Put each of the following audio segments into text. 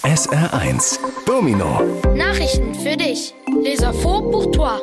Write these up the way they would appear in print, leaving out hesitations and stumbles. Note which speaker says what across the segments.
Speaker 1: SR1 Domino.
Speaker 2: Nachrichten für dich. Les infos pour toi.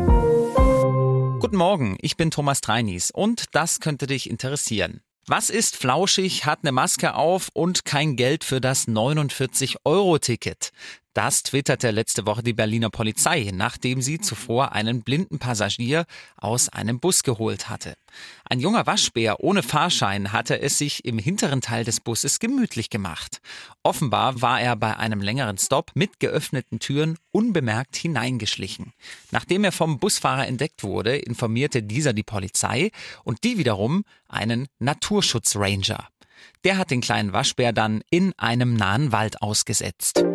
Speaker 3: Guten Morgen, ich bin Thomas Treinis und das könnte dich interessieren. Was ist flauschig, hat eine Maske auf und kein Geld für das 49-Euro-Ticket? Das twitterte letzte Woche die Berliner Polizei, nachdem sie zuvor einen blinden Passagier aus einem Bus geholt hatte. Ein junger Waschbär ohne Fahrschein hatte es sich im hinteren Teil des Busses gemütlich gemacht. Offenbar war er bei einem längeren Stopp mit geöffneten Türen unbemerkt hineingeschlichen. Nachdem er vom Busfahrer entdeckt wurde, informierte dieser die Polizei und die wiederum einen Naturschutzranger. Der hat den kleinen Waschbär dann in einem nahen Wald ausgesetzt.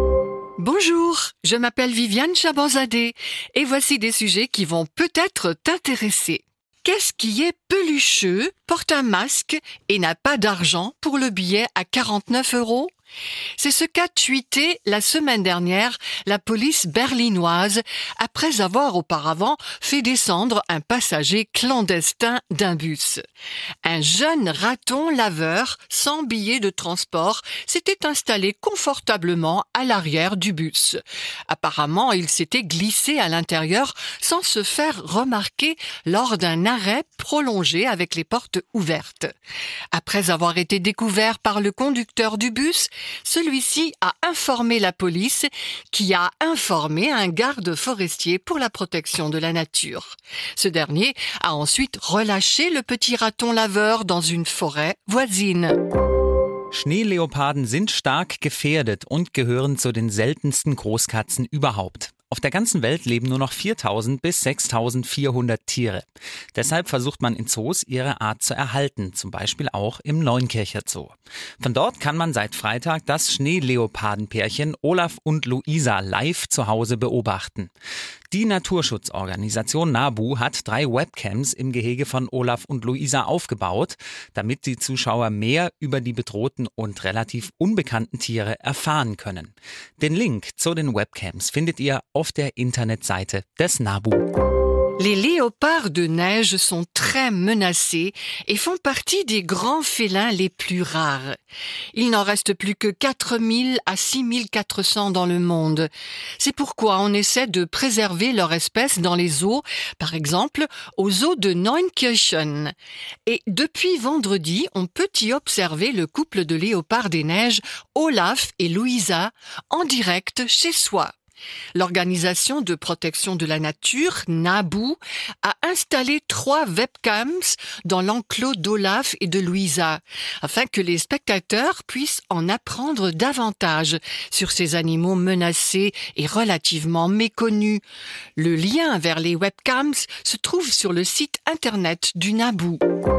Speaker 4: Bonjour, je m'appelle Viviane Chabanzadeh et voici des sujets qui vont peut-être t'intéresser. Qu'est-ce qui est pelucheux, porte un masque et n'a pas d'argent pour le billet à 49 €? C'est ce qu'a tweeté la semaine dernière la police berlinoise après avoir auparavant fait descendre un passager clandestin d'un bus. Un jeune raton laveur sans billet de transport s'était installé confortablement à l'arrière du bus. Apparemment, il s'était glissé à l'intérieur sans se faire remarquer lors d'un arrêt prolongé avec les portes ouvertes. Après avoir été découvert par le conducteur du bus, celui-ci a informé la police qui a informé un garde forestier pour la protection de la nature. Ce dernier a ensuite relâché le petit raton laveur dans une forêt voisine.
Speaker 3: Schneeleoparden sind stark gefährdet und gehören zu den seltensten Großkatzen überhaupt. Auf der ganzen Welt leben nur noch 4.000 bis 6.400 Tiere. Deshalb versucht man in Zoos, ihre Art zu erhalten, zum Beispiel auch im Neunkircher Zoo. Von dort kann man seit Freitag das Schneeleopardenpärchen Olaf und Luisa live zu Hause beobachten. Die Naturschutzorganisation NABU hat 3 Webcams im Gehege von Olaf und Luisa aufgebaut, damit die Zuschauer mehr über die bedrohten und relativ unbekannten Tiere erfahren können. Den Link zu den Webcams findet ihr auf der Internetseite des NABU.
Speaker 4: Les léopards de neige sont très menacés et font partie des grands félins les plus rares. Il n'en reste plus que 4 000 à 6 400 dans le monde. C'est pourquoi on essaie de préserver leur espèce dans les zoos, par exemple au zoo de Neunkirchen. Et depuis vendredi, on peut y observer le couple de léopards des neiges, Olaf et Luisa, en direct chez soi. L'organisation de protection de la nature, NABU, a installé 3 webcams dans l'enclos d'Olaf et de Luisa, afin que les spectateurs puissent en apprendre davantage sur ces animaux menacés et relativement méconnus. Le lien vers les webcams se trouve sur le site internet du NABU.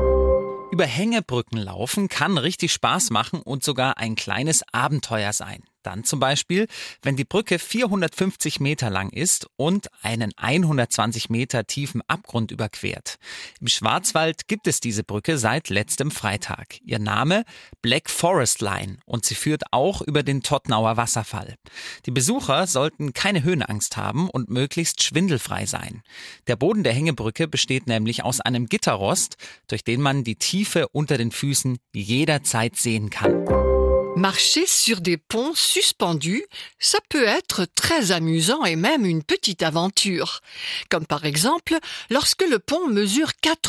Speaker 3: Über Hängebrücken laufen kann richtig Spaß machen und sogar ein kleines Abenteuer sein. Dann zum Beispiel, wenn die Brücke 450 Meter lang ist und einen 120 Meter tiefen Abgrund überquert. Im Schwarzwald gibt es diese Brücke seit letztem Freitag. Ihr Name Black Forest Line und sie führt auch über den Tottnauer Wasserfall. Die Besucher sollten keine Höhenangst haben und möglichst schwindelfrei sein. Der Boden der Hängebrücke besteht nämlich aus einem Gitterrost, durch den man die Tiefe unter den Füßen jederzeit sehen kann.
Speaker 4: Marcher sur des ponts suspendus, ça peut être très amusant et même une petite aventure. Comme par exemple, lorsque le pont mesure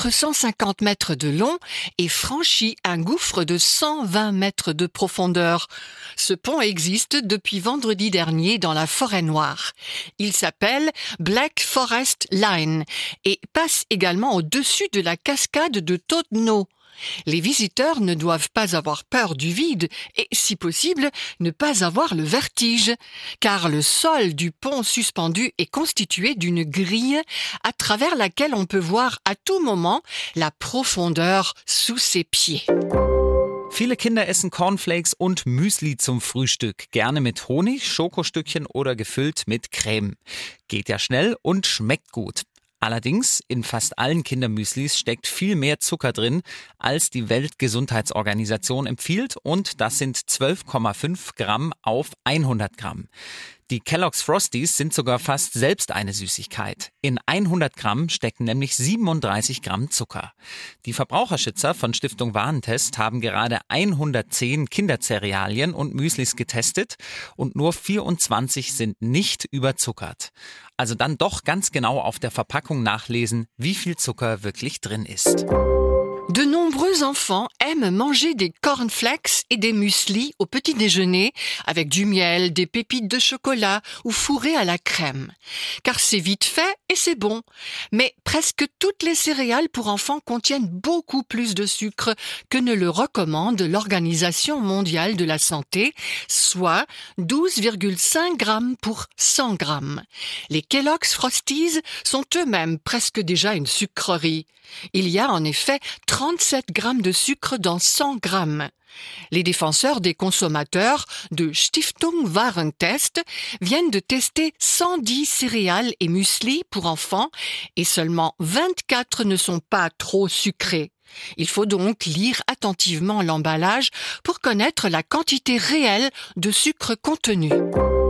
Speaker 4: 450 mètres de long et franchit un gouffre de 120 mètres de profondeur. Ce pont existe depuis vendredi dernier dans la Forêt Noire. Il s'appelle Black Forest Line et passe également au-dessus de la cascade de Todno. Les visiteurs ne doivent pas avoir peur du vide et, si possible, ne pas avoir le vertige, car le sol du pont suspendu est constitué d'une grille à travers laquelle on peut voir à tout moment la profondeur sous ses pieds.
Speaker 3: Viele Kinder essen Cornflakes und Müsli zum Frühstück, gerne mit Honig, Schokostückchen oder gefüllt mit Creme. Geht ja schnell und schmeckt gut. Allerdings, in fast allen Kindermüslis steckt viel mehr Zucker drin, als die Weltgesundheitsorganisation empfiehlt, und das sind 12,5 Gramm auf 100 Gramm. Die Kellogg's Frosties sind sogar fast selbst eine Süßigkeit. In 100 Gramm stecken nämlich 37 Gramm Zucker. Die Verbraucherschützer von Stiftung Warentest haben gerade 110 Kindercerealien und Müslis getestet und nur 24 sind nicht überzuckert. Also dann doch ganz genau auf der Verpackung nachlesen, wie viel Zucker wirklich drin ist.
Speaker 4: De nombreux enfants aiment manger des cornflakes et des mueslis au petit déjeuner avec du miel, des pépites de chocolat ou fourrés à la crème. Car c'est vite fait et c'est bon. Mais presque toutes les céréales pour enfants contiennent beaucoup plus de sucre que ne le recommande l'Organisation mondiale de la santé, soit 12,5 grammes pour 100 grammes. Les Kellogg's Frosties sont eux-mêmes presque déjà une sucrerie. Il y a en effet 37 grammes de sucre dans 100 grammes. Les défenseurs des consommateurs de Stiftung Warentest viennent de tester 110 céréales et muesli pour enfants et seulement 24 ne sont pas trop sucrés. Il faut donc lire attentivement l'emballage pour connaître la quantité réelle de sucre contenu.